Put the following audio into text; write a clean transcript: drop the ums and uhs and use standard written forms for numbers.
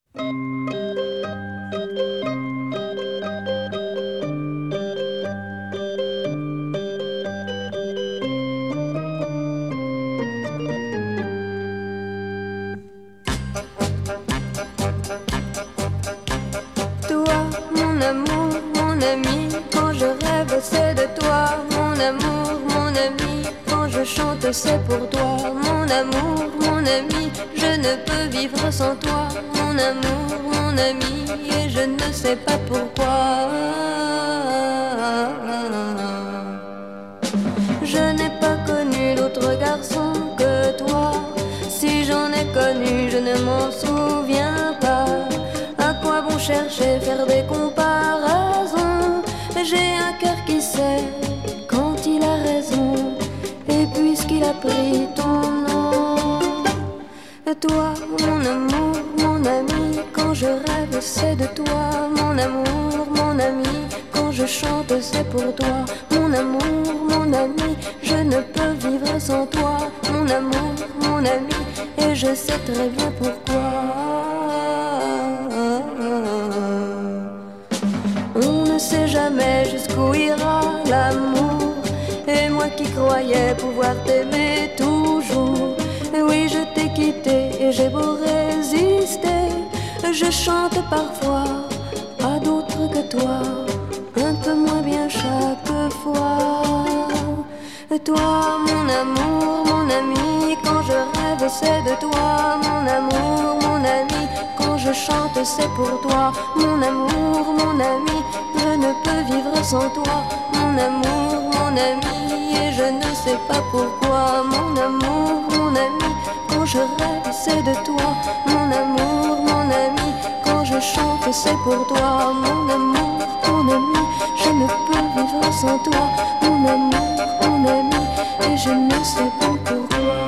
C'est de toi, mon amour, mon ami. Quand je chante, c'est pour toi, mon amour, mon ami. Je ne peux vivre sans toi, mon amour, mon ami. Et je ne sais pas pourquoi. Je n'ai pas connu d'autre garçon que toi. Si j'en ai connu, je ne m'en souviens pas. À quoi bon chercher, faire des comparaisons? J'ai un cœur qui sait quand il a raison. Et puisqu'il a pris ton nom, toi, mon amour, mon ami. Quand je rêve, c'est de toi, mon amour, mon ami. Quand je chante, c'est pour toi, mon amour, mon ami. Je ne peux vivre sans toi, mon amour, mon ami. Et je sais très bien pourquoi. On ne sait jamais jusqu'où ira l'amour. Et moi qui croyais pouvoir t'aimer toujours, oui, je t'ai quitté et j'ai beau résister. Je chante parfois à d'autres que toi, un peu moins bien chaque fois. Toi, mon amour, mon ami. Quand je rêve, c'est de toi, mon amour, mon ami. Quand je chante, c'est pour toi, mon amour, mon ami. Je ne peux vivre sans toi, mon amour, mon ami. Et je ne sais pas pourquoi, mon amour, mon ami. Quand je rêve, c'est de toi, mon amour, mon ami. Quand je chante, c'est pour toi, mon amour, mon ami. Je ne peux vivre sans toi, mon amour, mon ami. Et je ne sais pas pourquoi.